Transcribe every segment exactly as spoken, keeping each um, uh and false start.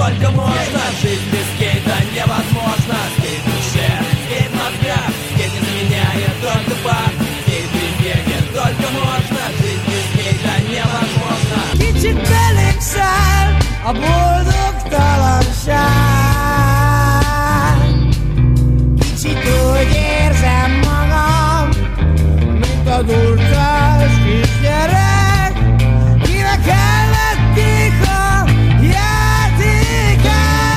только можно. Жизнь без скейта невозможна. Скейт в душе, скейт в мозгах. Скейт не заменяет только бар. Скейт без бега только можно. Жизнь без скейта невозможна. Kicsit belém száll a boldogtalanság. Kicsit úgy érzem magam, mint a durcás kisgyerek, kinek elvették a játékát.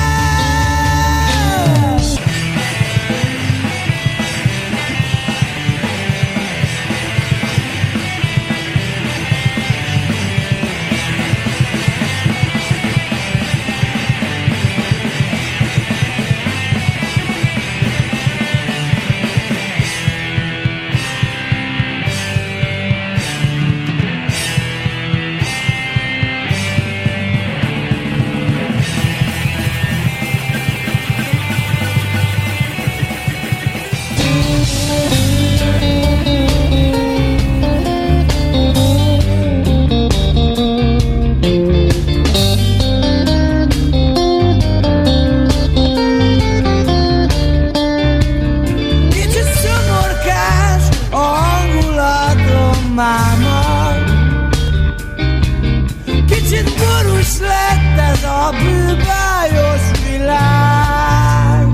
Kicsit szomorkás a hangulatom máma. Kicsit borús lett ez a bűbájos világ.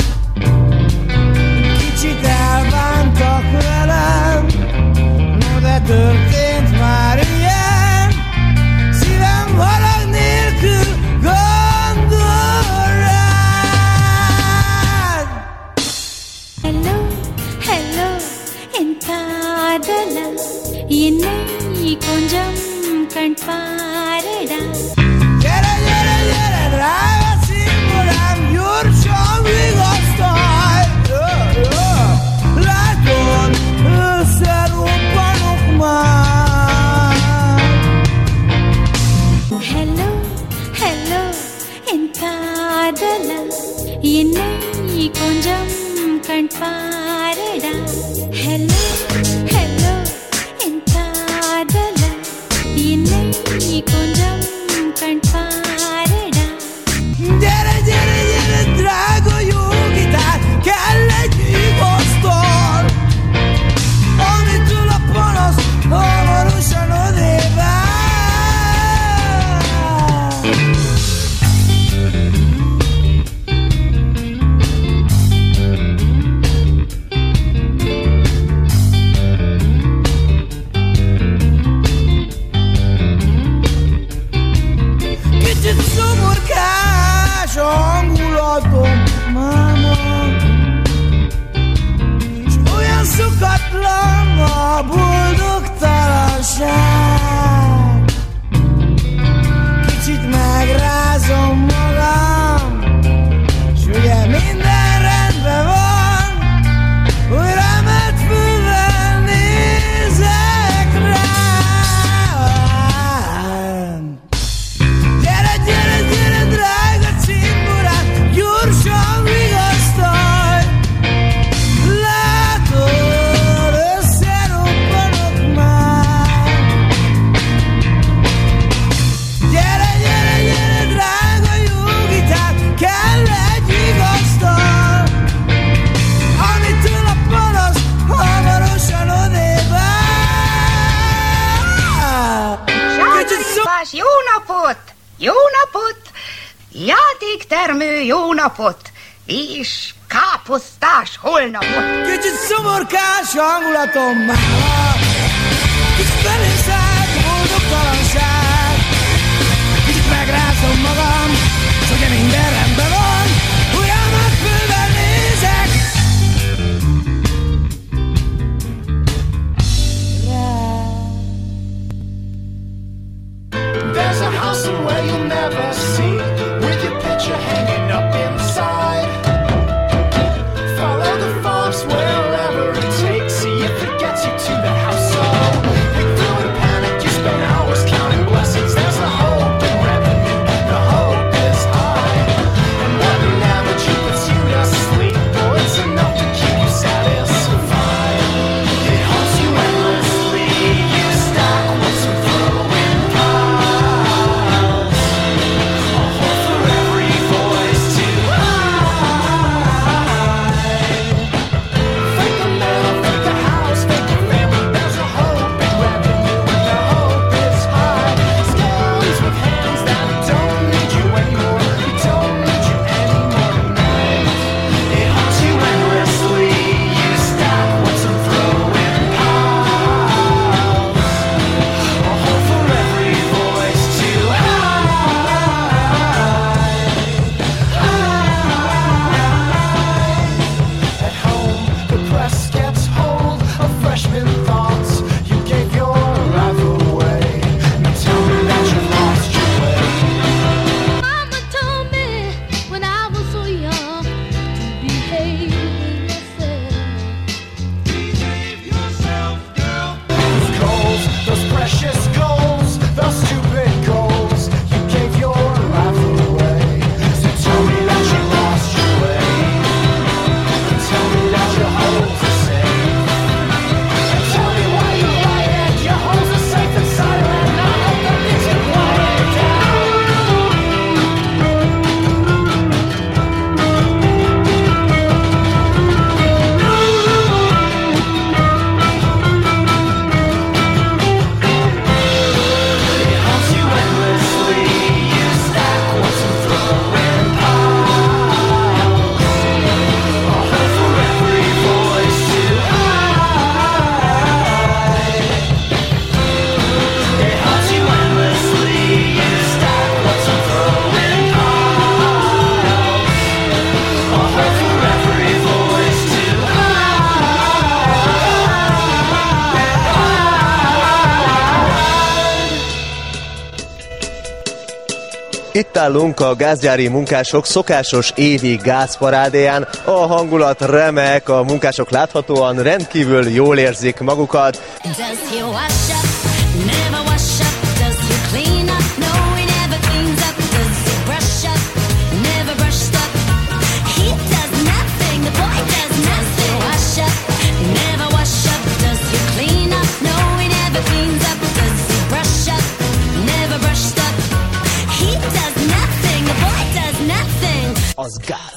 Kicsit elbántak velem, no de történt már ilyen. Szívem harag nélkül gondol rád. Hello, hello, என் காதலா என்னை கொஞ்சம் கண் பாரடா. Gyere, gyere, gyere, drága szimbolám, gyorsan vigasztalj! Jó, jó. Látod, összerobbanok már. Hello, hello, என் காதலா என்னை கொஞ்சம் கண் பாரடா. Hello, hello, என் காதலா என்னை கொஞ்சம் கண் பாரடா. Gyere, gyere, gyere, drága jó gitár, kell egy vigasztal, amitől a panasz hamarosan odébb áll. Kicsit szomorkás a hangulatom, máma, s olyan szokatlan a boldogtalanság. Kicsit megrázom magam, s ugye minden rendben van, hogy remet fülvel nézek rám. Gyere, gyere, gyere, drága cimborám, gyorsan vigasztalj! Látod, összerobbanok már. Gyere, gyere, gyere, drága jó gitár, kell egy vigasztal, amitől a panasz hamarosan odébb áll. Kicsit szó- Sándor jó napot! Jó napot! Játéktermő jó napot! És káposztás holnapot! Kicsit szomorkás hangulatom máma, kicsit belém szállt a boldogtalanság. Kicsit megrázom magam, s ugye minden rendben van, olyan megfővel nézek rád. There's a house somewhere you'll never see, with your picture hanging up inside. Follow the forms wherever it takes, see if it gets you to the house. So pick through and panic. Itt állunk a gázgyári munkások szokásos évi gázparádéján. A hangulat remek, a munkások láthatóan rendkívül jól érzik magukat. Az gáz.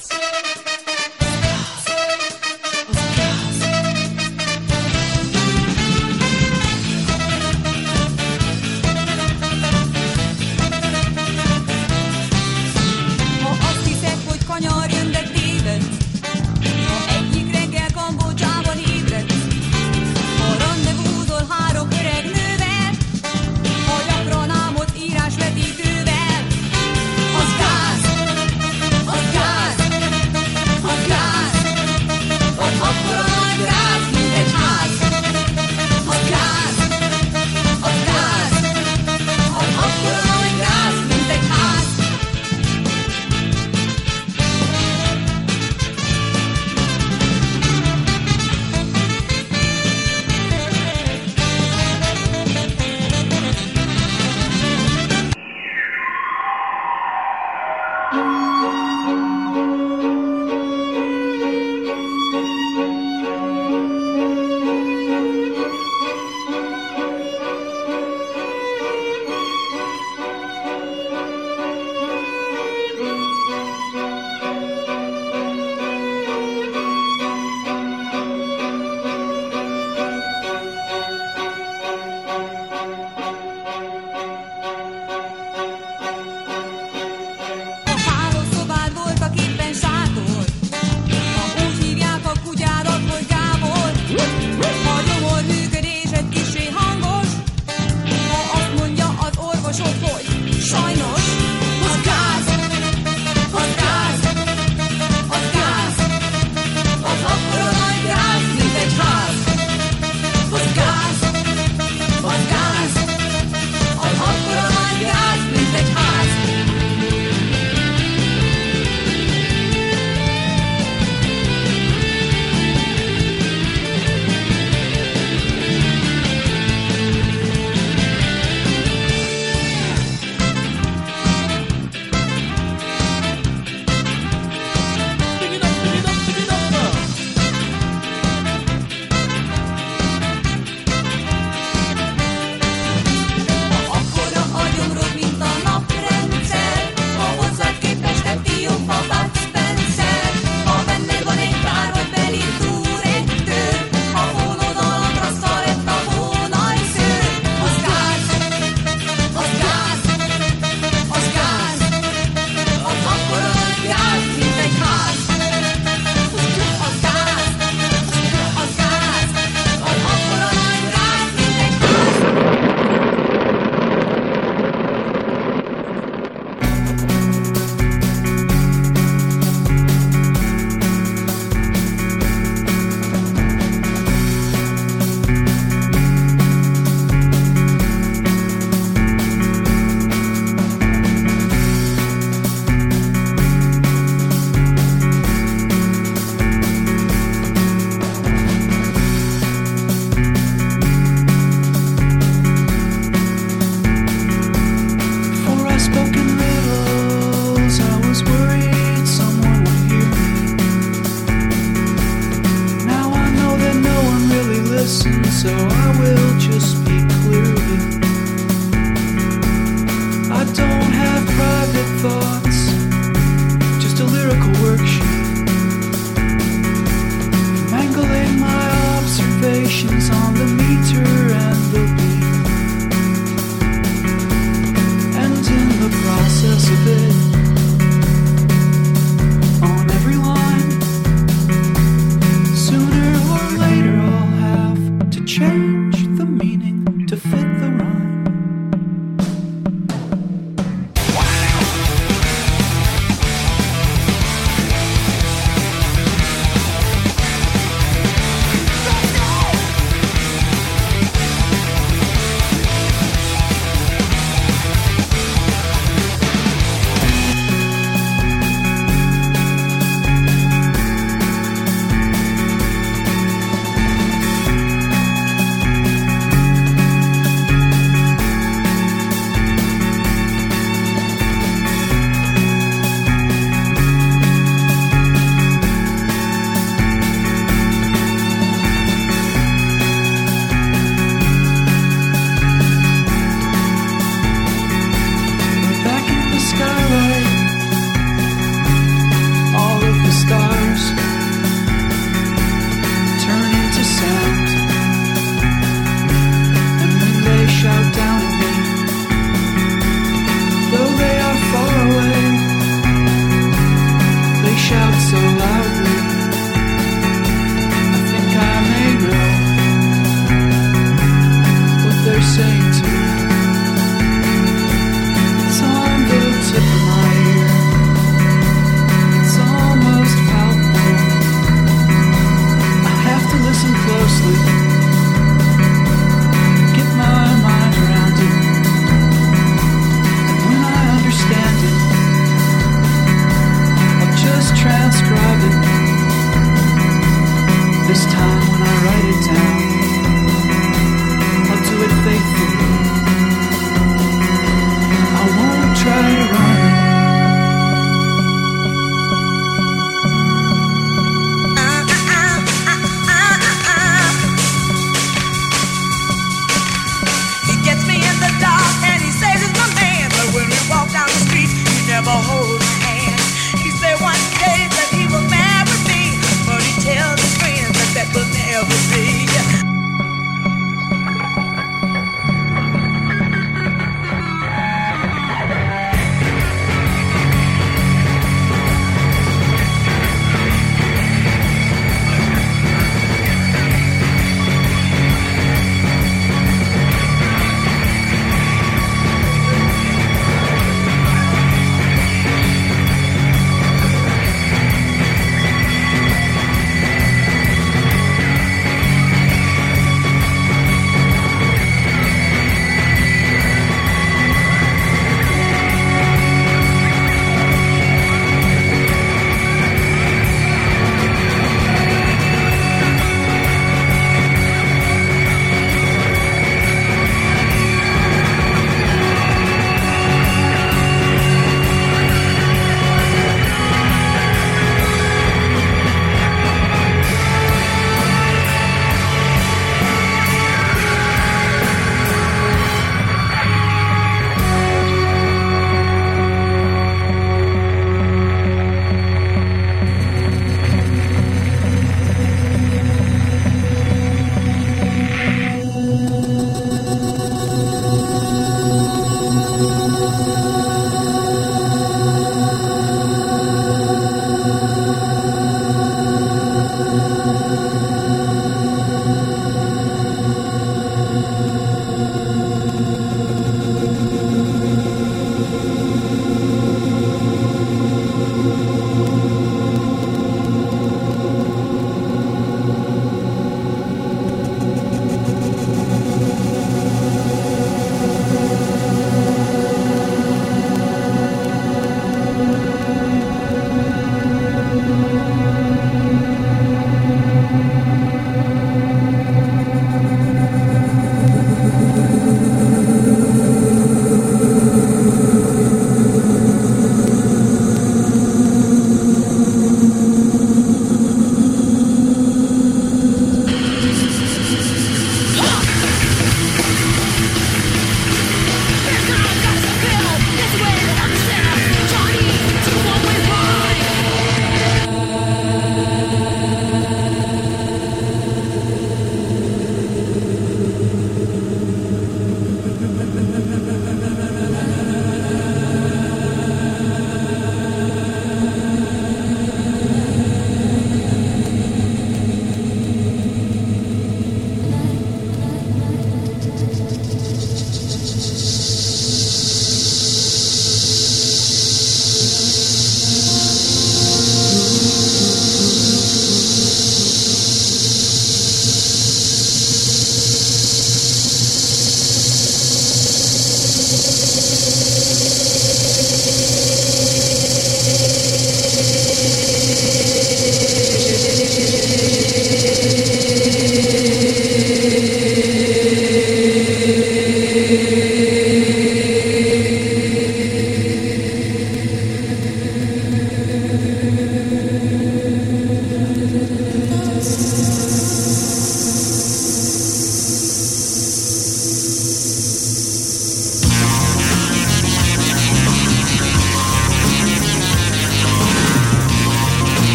shout so loudly. I think I may know what they're saying to me. It's on the tip of my ear. It's almost palpable. I have to listen closely, get my mind around it. And when I understand it, I'll just transcribe it. This time when I write it down, I'll do it faithfully. I won't try to run it. He gets me in the dark and he says he's my man, but when we walk down the street, he never holds my hand. He said one day that he will marry me, but he tells his friends that that will never be.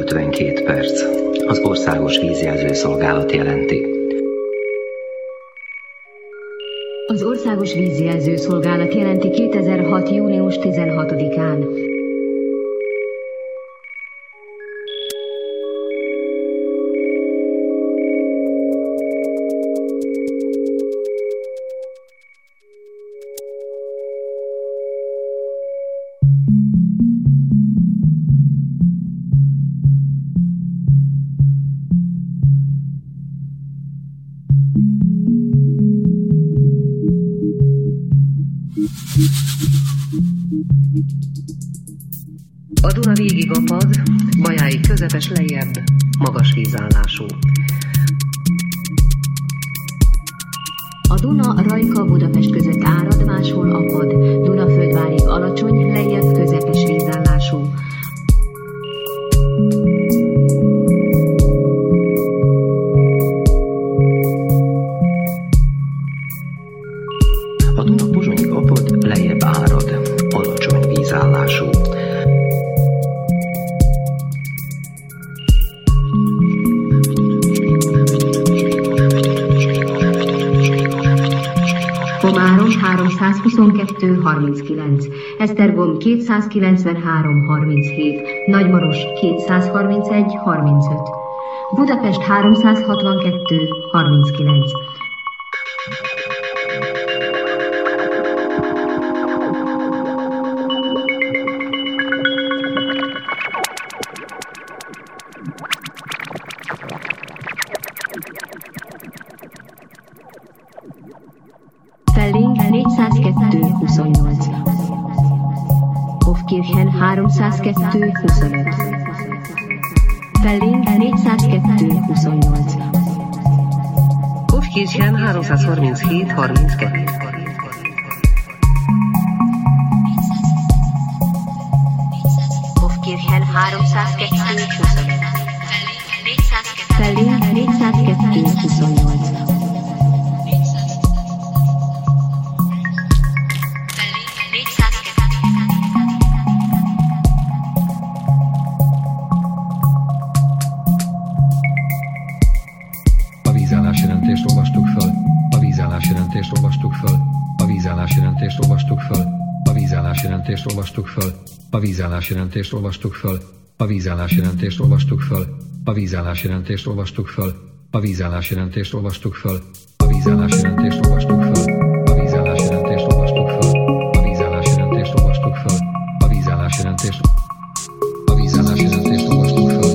ötvenkét perc. Az Országos Vízjelző Szolgálat jelenti. Az Országos Vízjelző Szolgálat jelenti kétezer-hat. június tizenhatodikán. A Duna végig apad, Bajáig közepes lejjebb, magas vízállású. A Duna Rajka Budapest között árad, máshol apad, Dunaföldvárig alacsony, lejjebb közepes vízállású. A Duna Pozsonyig apad, lejjebb árad, alacsony vízállású. Komárom háromszázhuszonkettő harminckilenc, Esztergom kétszázkilencvenhárom harminchét, Nagymaros kétszázharmincegy harmincöt, Budapest háromszázhatvankettő harminckilenc. Felling négyszázkettő huszonnyolc, Hofkirchen háromszázkettő huszonöt, Felling négyszázkettő huszonnyolc, Hofkirchen háromszázharminchét harminckettő. Hofkirchen háromszázkettő huszonöt, Felling négyszázkettő huszonnyolc. A vízállásjelentést olvastuk föl. A vízállásjelentést olvastuk föl. A vízállásjelentést olvastuk föl. A vízállásjelentést olvastuk föl. A vízállásjelentést olvastuk föl. A vízállásjelentést olvastuk föl. A vízállásjelentést olvastuk föl. A vízállásjelentést olvastuk föl. A vízállásjelentést olvastuk föl. A vízállásjelentést olvastuk föl. A vízállásjelentést olvastuk föl. A vízállásjelentést A vízállásjelentést olvastuk föl.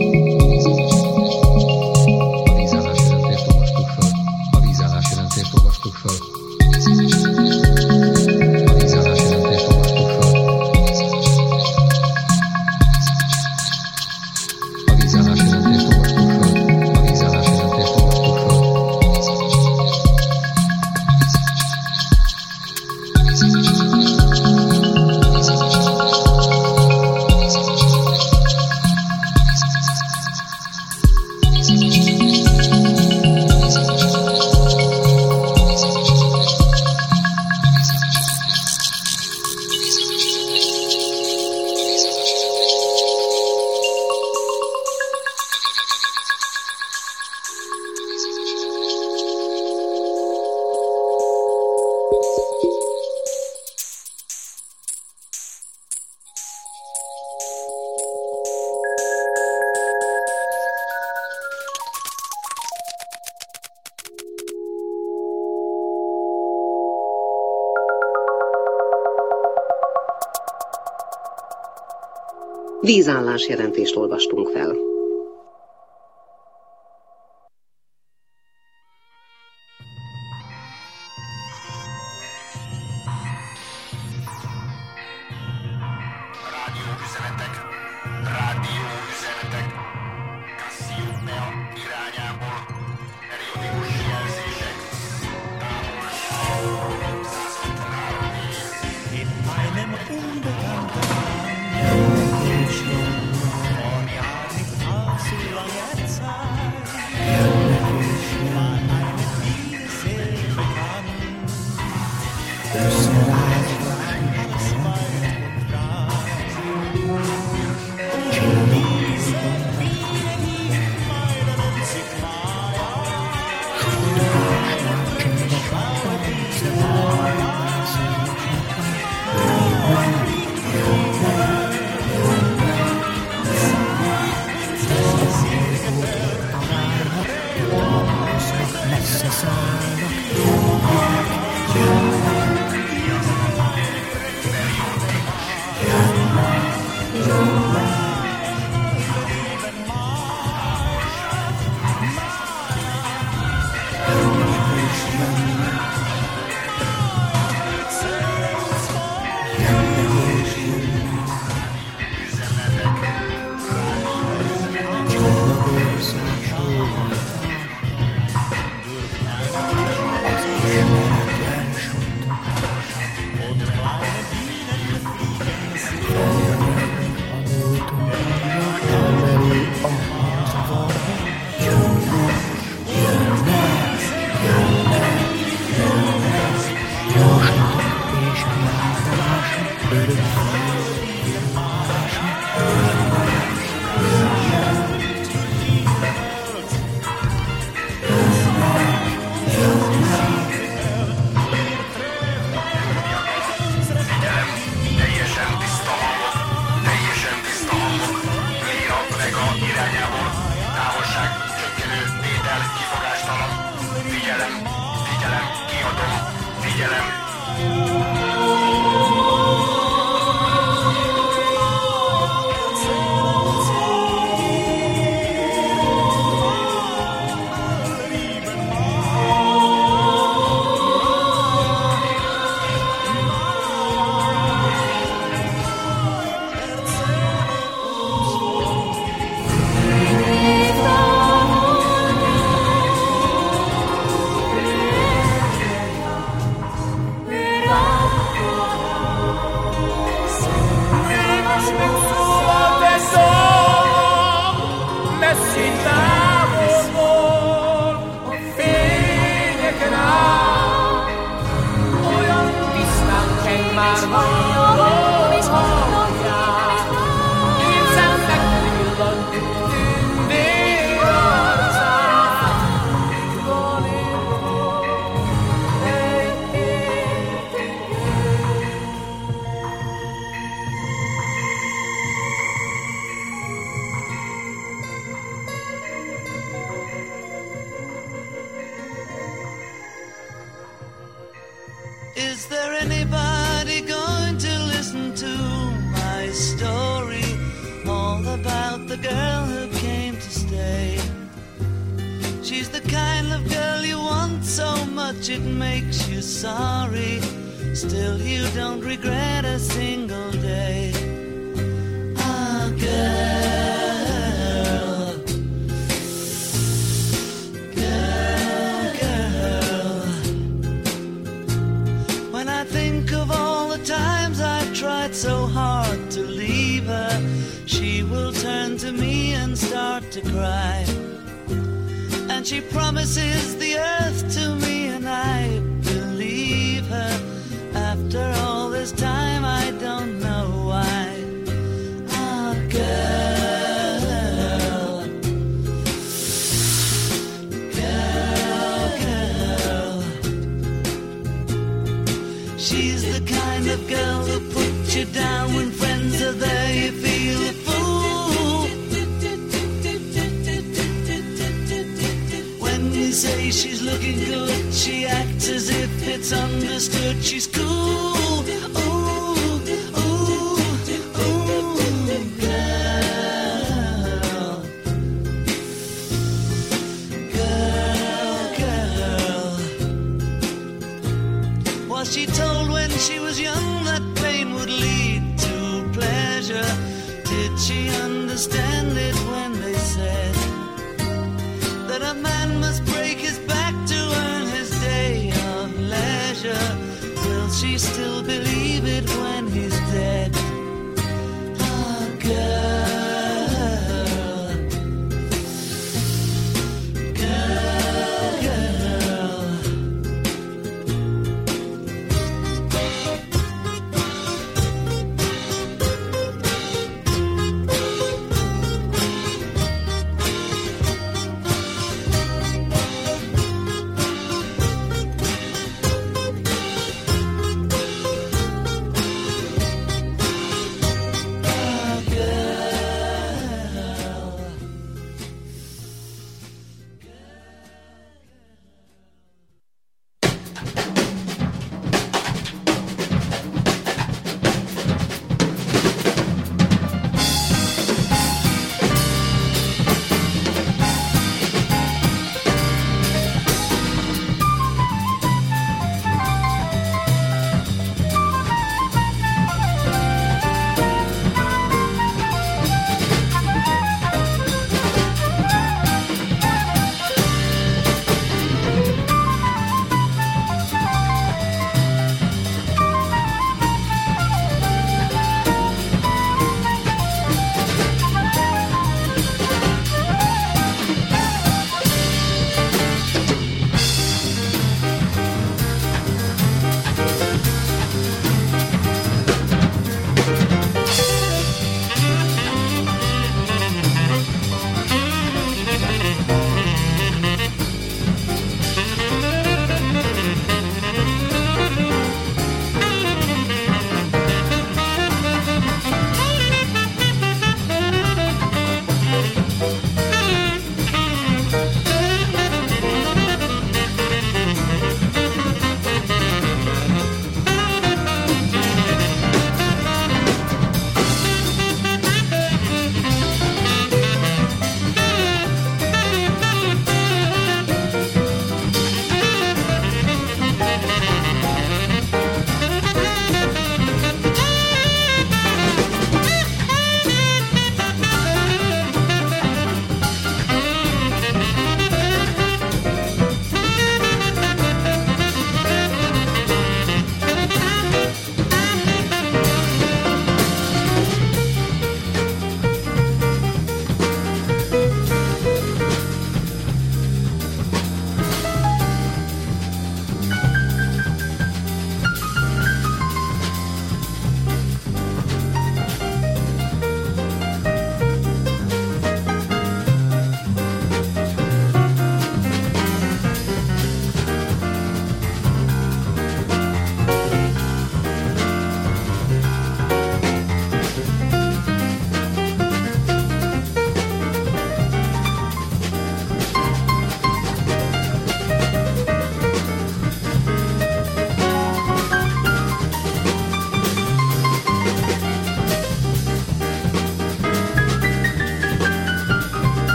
Vízállásjelentést olvastunk fel. Rádióüzenetek, rádióüzenetek, Cassiopeia irányából, periódikus jelzések, távolság száz hatvanhárom év. In meinem unbekannten figyelem. Is there anybody going to listen to my story? All about the girl who came to stay. She's the kind of girl you want so much it makes you sorry. Still you don't regret a single day. Ah, girl. So hard to leave her, she will turn to me and start to cry. And she promises the earth to me, and I believe her. After all this time, I don't know why. Ah, girl, girl, girl. She's the kind of girl who puts you down when friends are there, you feel a fool. When you say she's looking good, she acts as if it's understood she's cool. Ooh, ooh, ooh, girl. Girl, girl. Was she told when she was young that pain would lead to pleasure? Did she understand it when they said that a man must break his back to earn his day of leisure? Will she still believe it when he's dead? Ah, girl, girl, girl.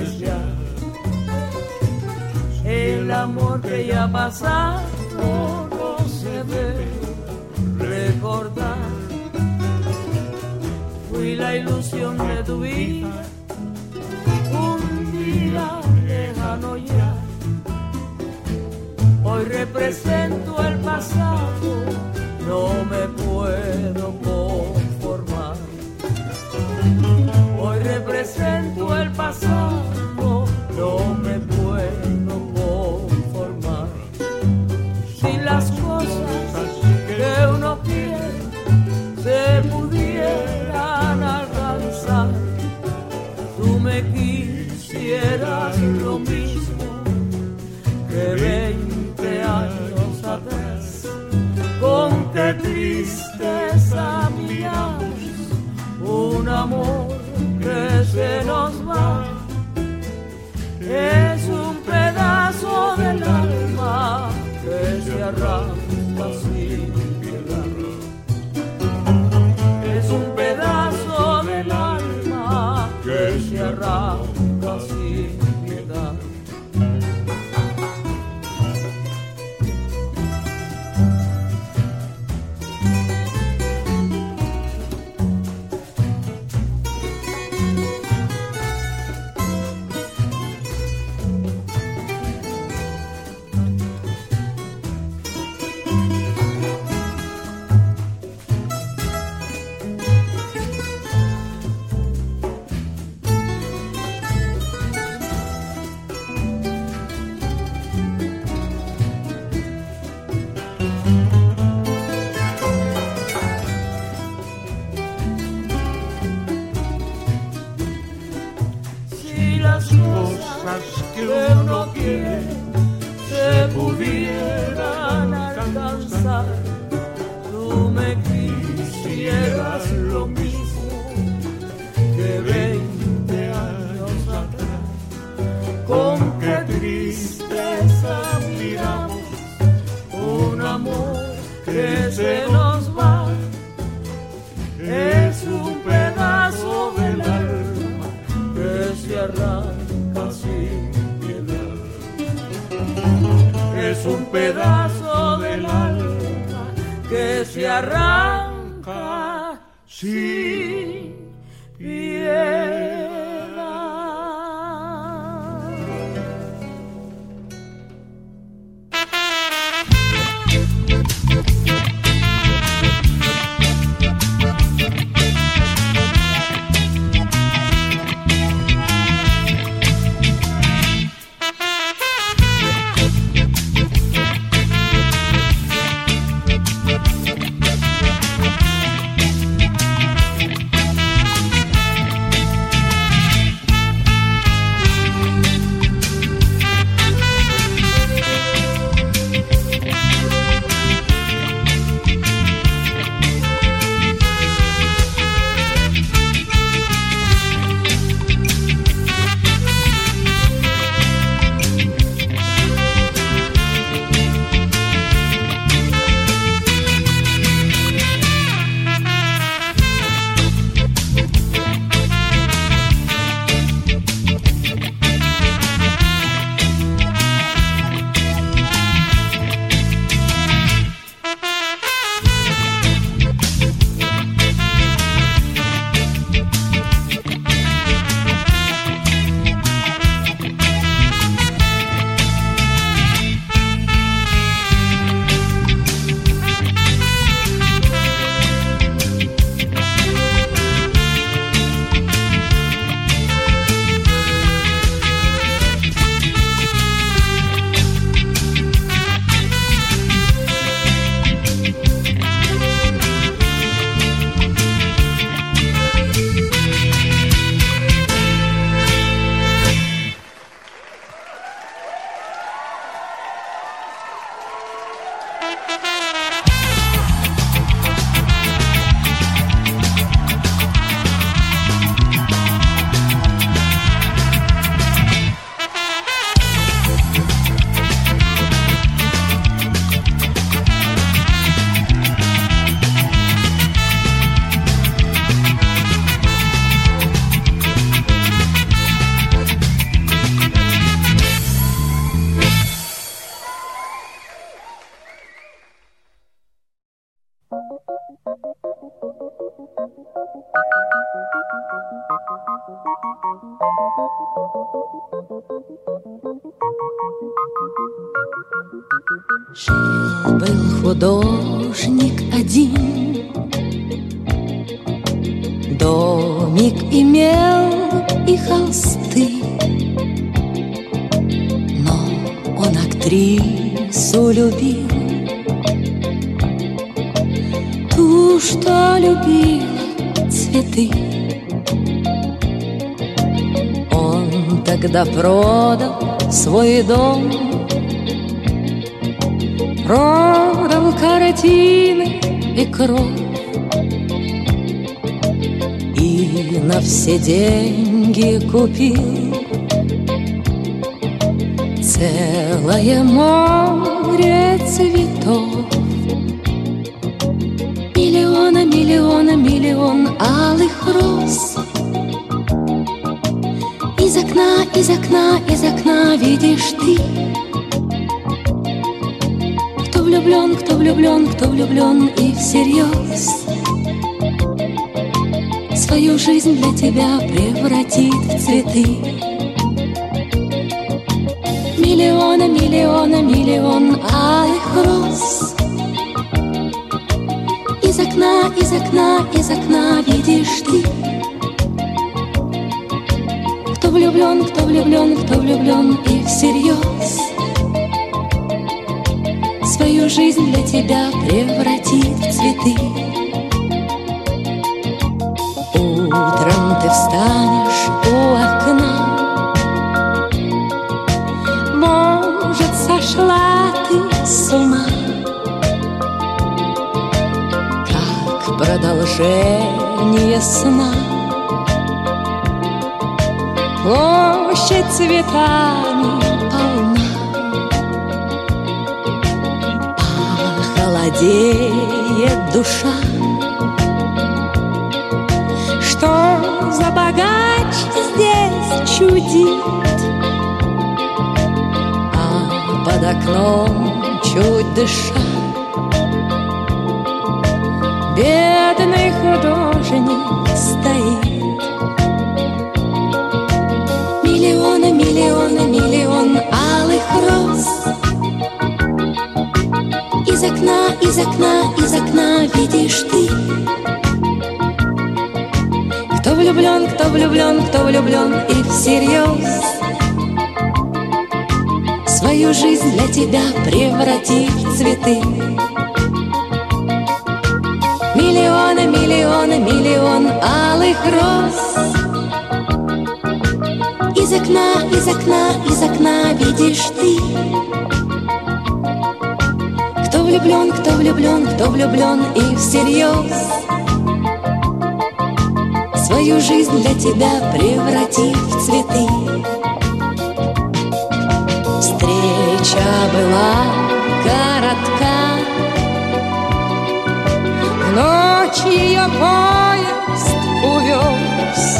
despreciar. El amor que ya ha pasado no se debe recordar. Fui la ilusión de tu vida, un día lejano ya. Hoy represento el pasado, no me puedo conformar. Hoy represento el pasado, no me puedo conformar. Si las cosas que uno quiere se pudieran alcanzar, tú me quisieras lo mismo que veinte años atrás. Con qué tristeza miramos un amor que se nos va. Es un pedazo del alma que se arranca sin piedad. Es un pedazo del alma que se arranca sin piedad. Жил-был художник один, домик имел и холсты, но он актрису любил, ту, что любила цветы. Он тогда продал свой дом, продал картины и кровь, и на все деньги купил целое море цветов. Миллиона, миллиона, миллион алых роз. Из окна, из окна, из окна видишь ты. Кто влюблен, кто влюблен, кто влюблен и всерьез свою жизнь для тебя превратит в цветы. Миллиона, миллиона, миллион алых роз. Из окна, из окна, из окна видишь ты. Кто влюблен, кто влюблен, кто влюблен и всерьез свою жизнь для тебя превратит в цветы. Утром ты встанешь у окна, может, сошла ты с ума, как продолжение сна. Площадь цветами полна, холодеет душа. Что за богач здесь чудит, а под окном чуть дыша бедный художник стоит. Миллиона, миллиона, миллион алых роз. Из окна, из окна, из окна видишь ты. Кто влюблен, кто влюблен, кто влюблен и всерьез свою жизнь для тебя превратит в цветы. Миллионы, миллионы, миллион алых роз. Из окна, из окна, из окна видишь ты. Кто влюблен, кто влюблен, кто влюблен и всерьез свою жизнь для тебя превратит в цветы. Встреча была коротка, в ночь ее поезд увез,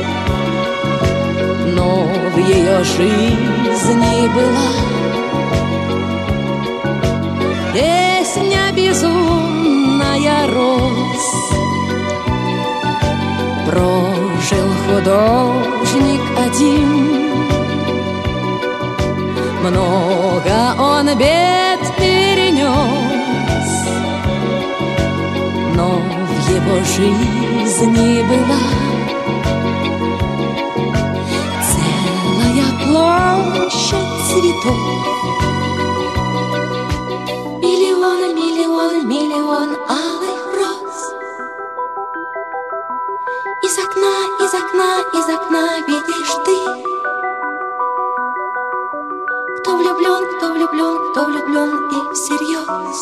но в ее жизни была песня безумная роз. Прожил художник один, много он бед перенес, но в его жизни была целая площадь цветов. Миллион, миллион, миллион алых роз. Из окна, из окна, из окна видишь ты. Кто влюблен, кто влюблен, кто влюблен и всерьез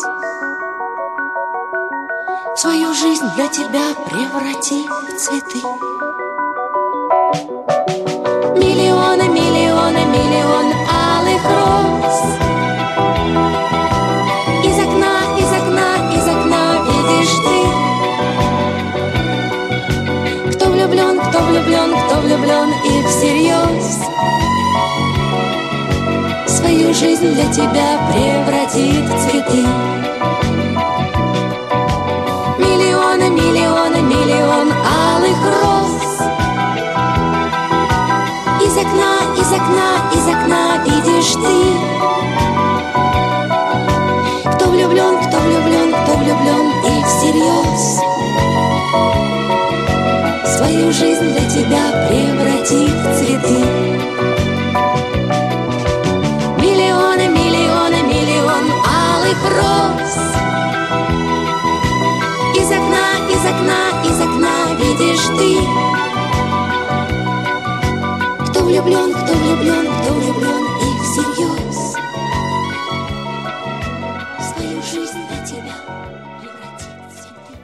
свою жизнь для тебя преврати в цветы. Миллионы, миллионы, миллион алых роз. Из окна, из окна, из окна видишь ты. Кто влюблен, кто влюблен, кто влюблен и всерьез свою жизнь для тебя превратит в цветы. Миллионы, миллионы, миллион алых роз. Из окна, из из окна, из окна видишь ты. Кто влюблен, кто влюблен, кто влюблен и всерьез свою жизнь для тебя превратит в цветы. Миллионы, миллионы, миллион алых роз. Из окна, из окна, из окна видишь ты. Кто влюблен, кто влюблен, кто влюблен и всерьез свою жизнь для тебя превратит в цветы.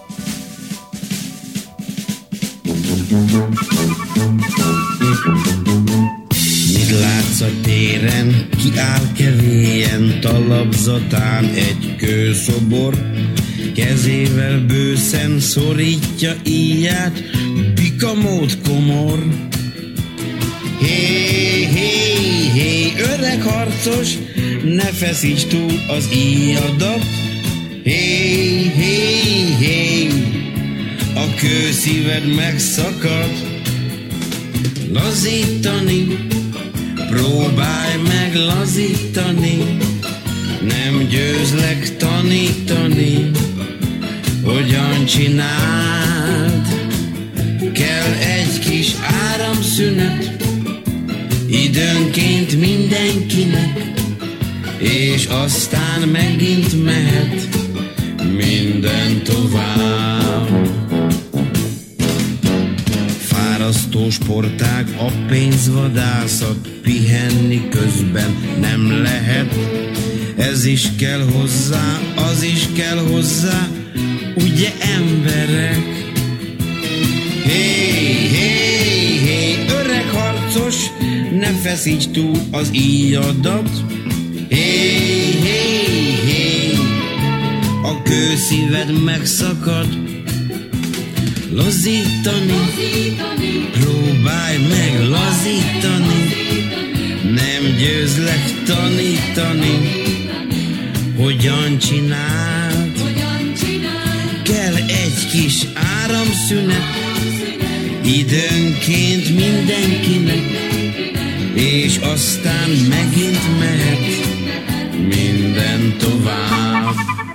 Mit látsz a téren, kiáll kevélyen, talapzatán egy kőszobor, kezével bőszen szorítja íját, bikamód komor. Hé, hé, hé, öreg harcos, ne feszíts túl az íjadat. Hé, hé, hé, a kőszíved megszakad. Lazítani, próbálj meg lazítani, nem győzlek tanítani, hogyan csináld. Kell egy kis áramszünet, időnként mindenkinek, és aztán megint mehet minden tovább. Fárasztó sportág, a pénzvadászat, pihenni közben nem lehet. Ez is kell hozzá, az is kell hozzá, ugye emberek? Hé, hé, hé, öreg harcos, ne feszíts túl az íjadat. Hé, hé, hé, a kőszíved megszakad. Lazítani, próbálj meg lazítani, nem győzlek tanítani, hogyan csináld. Kell egy kis áramszünet, időnként mindenkinek, és aztán megint mehet minden tovább.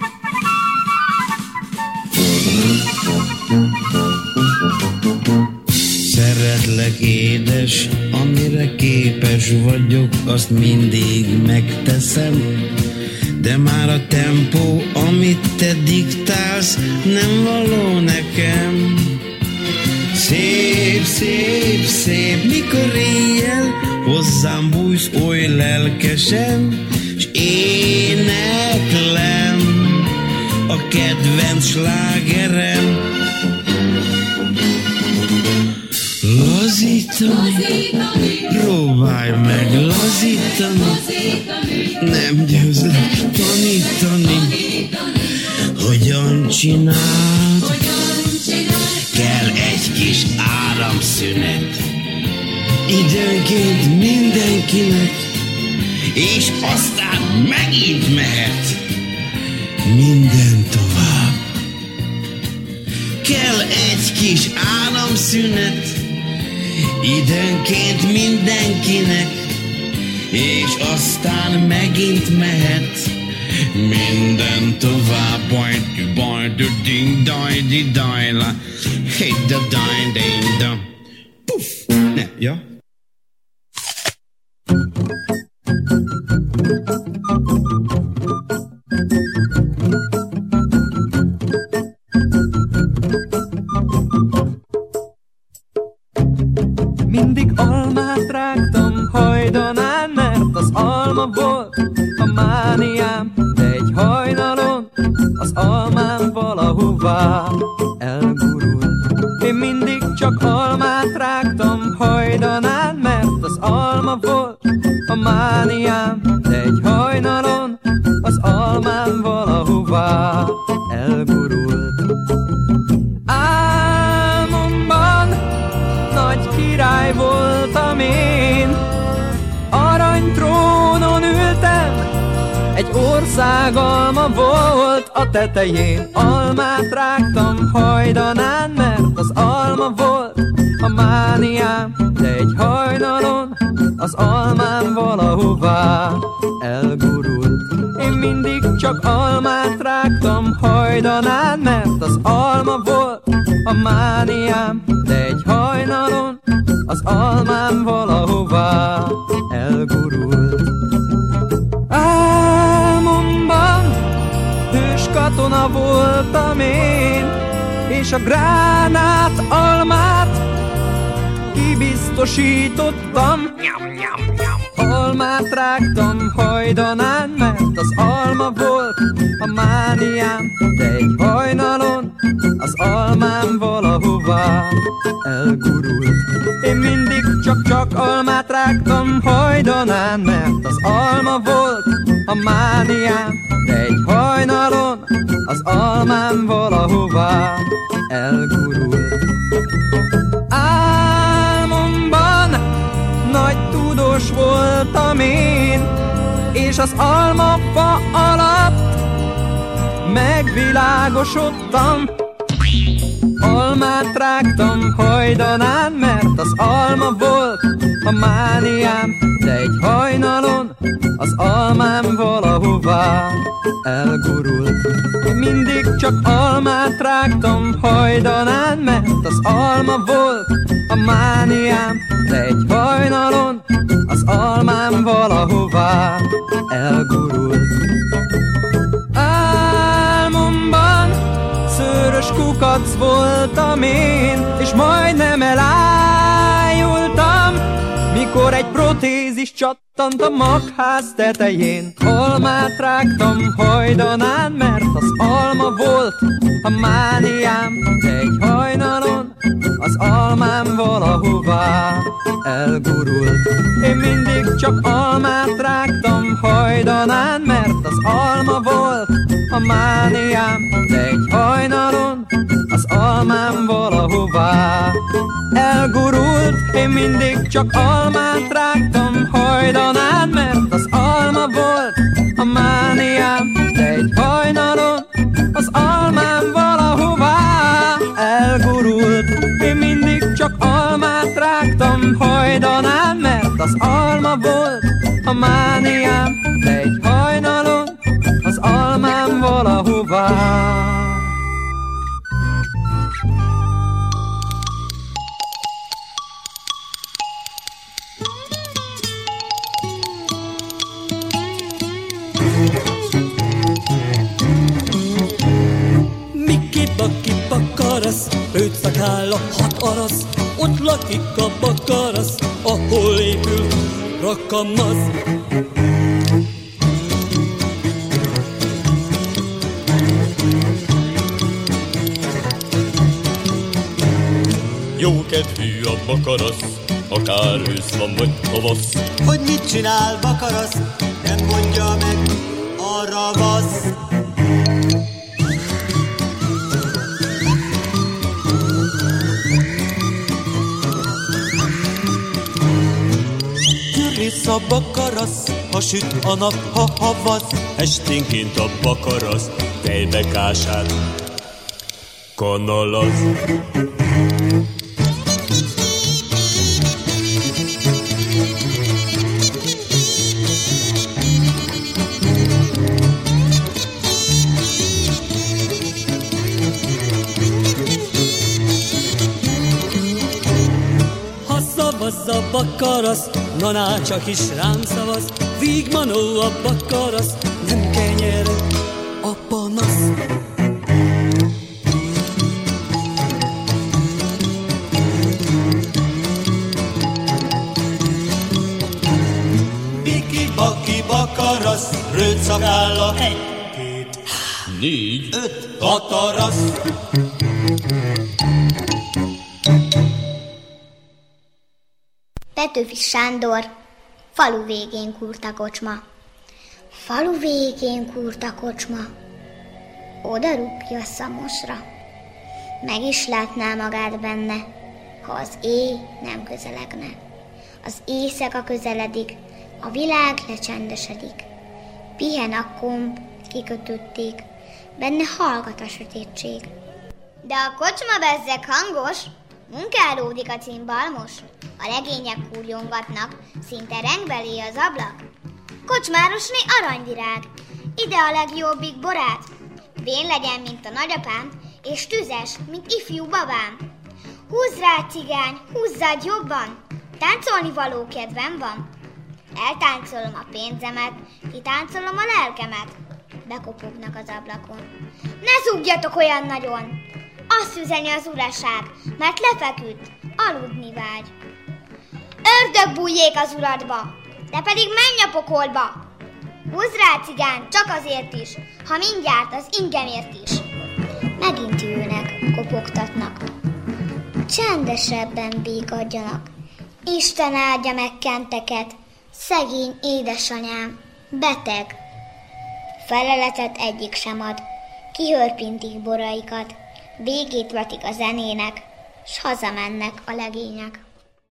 Szeretlek édes, amire képes vagyok, azt mindig megteszem, de már a tempó, amit te diktálsz, nem való nekem. Szép, szép, szép, mikor éjjel hozzám bújsz oly lelkesen, s éneklem a kedvenc slágerem. Lazítani, próbálj meg lazítani, nem győzlek tanítani, hogyan csináld. Kell egy kis áramszünet, időnként mindenkinek, és aztán megint mehet minden tovább. Kell egy kis áramszünet, időnként mindenkinek, és aztán megint mehet minden tovább. Bajt, bajt, ding, daj, di, daj, la, hey, da, daj, ding, da. Puff! Ne, ja? Mindig almát rágtam hajdanán, mert az alma volt a mániám, de egy hajnalon az almám valahová elgurult. Én mindig csak almát rágtam hajdanán, mert az alma volt a mániám, de egy hajnalon az almám valahová elgurult. Álmomban nagy király voltam én, aranytrónon ültem, egy ország alma volt a tetején. Almát rágtam hajdanán, mert az alma volt a mániám, de egy hajnalon az almám valahová elgurult. Én mindig csak almát rágtam hajdanán, mert az alma volt a mániám, de egy hajnalon az almám valahová elgurult. Álmomban hős katona voltam én, és a gránát almát kibiztosítottam. Almát rágtam hajdanán, mert az alma volt a mániám, de egy hajnalon az almám valahová elgurult. Én mindig csak-csak almát rágtam hajdanán, mert az alma volt a mániám, de egy hajnalon az almám valahová elgurult. Álmomban nagy tudós voltam én, és az almafa alatt megvilágosodtam. Almát rágtam hajdanán, mert az alma volt a mániám, de egy hajnalon az almám valahová elgurult. Én mindig csak almát rágtam hajdanán, mert az alma volt a mániám, de egy hajnalon az almám valahová elgurult. Álmomban szőrös kukac voltam én, és majdnem elájultam, mikor egy protézis csattant a magház tetején. Almát rágtam hajdanán, mert az alma volt a mániám, de egy hajnalon az almám valahová elgurult. Én mindig csak almát rágtam hajdanán, mert az alma volt a mániám, de egy hajnalon az almám valahová elgurult. Én mindig csak almát rágtam hajdanán, mert az alma volt a mániám, de egy hajnalon az almám valahová elgurult. Én mindig csak almát rágtam hajdanán, mert az alma volt a mániám, de egy hajnalon az almám valahová. Miki-baki bakarasz, őt szakáll a hat arasz, ott lakik a bakarasz, ahol épül rakamasz. Jókedvű a bakarasz, akár ősz van vagy tavasz. Hogy mit csinál bakarasz, nem mondja meg a ravasz. Türlisz a bakarasz, ha süt a nap, ha havasz. Esténként a bakarasz tejbekását kanalaz. Szavazz a bakarasz, naná csak is rám szavaz. Vígmanó a bakarasz, nem kenyere a panasz. Biki-baki bakarasz, rőt szakálla. Egy, két, négy, öt, hat arasz. Petőfi Sándor, falu végén kúrt a kocsma. Falu végén kúrt a kocsma. Oda rúgja a szamosra. Meg is látná magát benne, ha az éj nem közelegne. Az éjszaka közeledik, a világ lecsendesedik. Pihen a komp, kikötötték, benne hallgat a sötétség. De a kocsma bezzeg hangos, Munkálódik a cimbalmos, a legények húrjongatnak, szinte rengbelé az ablak. Kocsmárosné aranyvirág, ide a legjobbik borát. Vén legyen, mint a nagyapám, és tüzes, mint ifjú babám. Húzz rá, cigány, húzzad jobban, táncolni való kedvem van. Eltáncolom a pénzemet, kitáncolom a lelkemet. Bekopognak az ablakon. Ne zúgjatok olyan nagyon! Azt üzeni az uraság, mert lefeküdt, aludni vágy. Ördög bújjék az uradba, de pedig menj a pokolba! Húzz rá, cigány, csak azért is, ha mindjárt az ingemért is. Megint jönnek, kopogtatnak. Csendesebben békadjanak. Isten áldja meg kenteket, szegény édesanyám, beteg. Feleletet egyik sem ad, kihörpintik boraikat, végét vetik a zenének, s hazamennek a legények.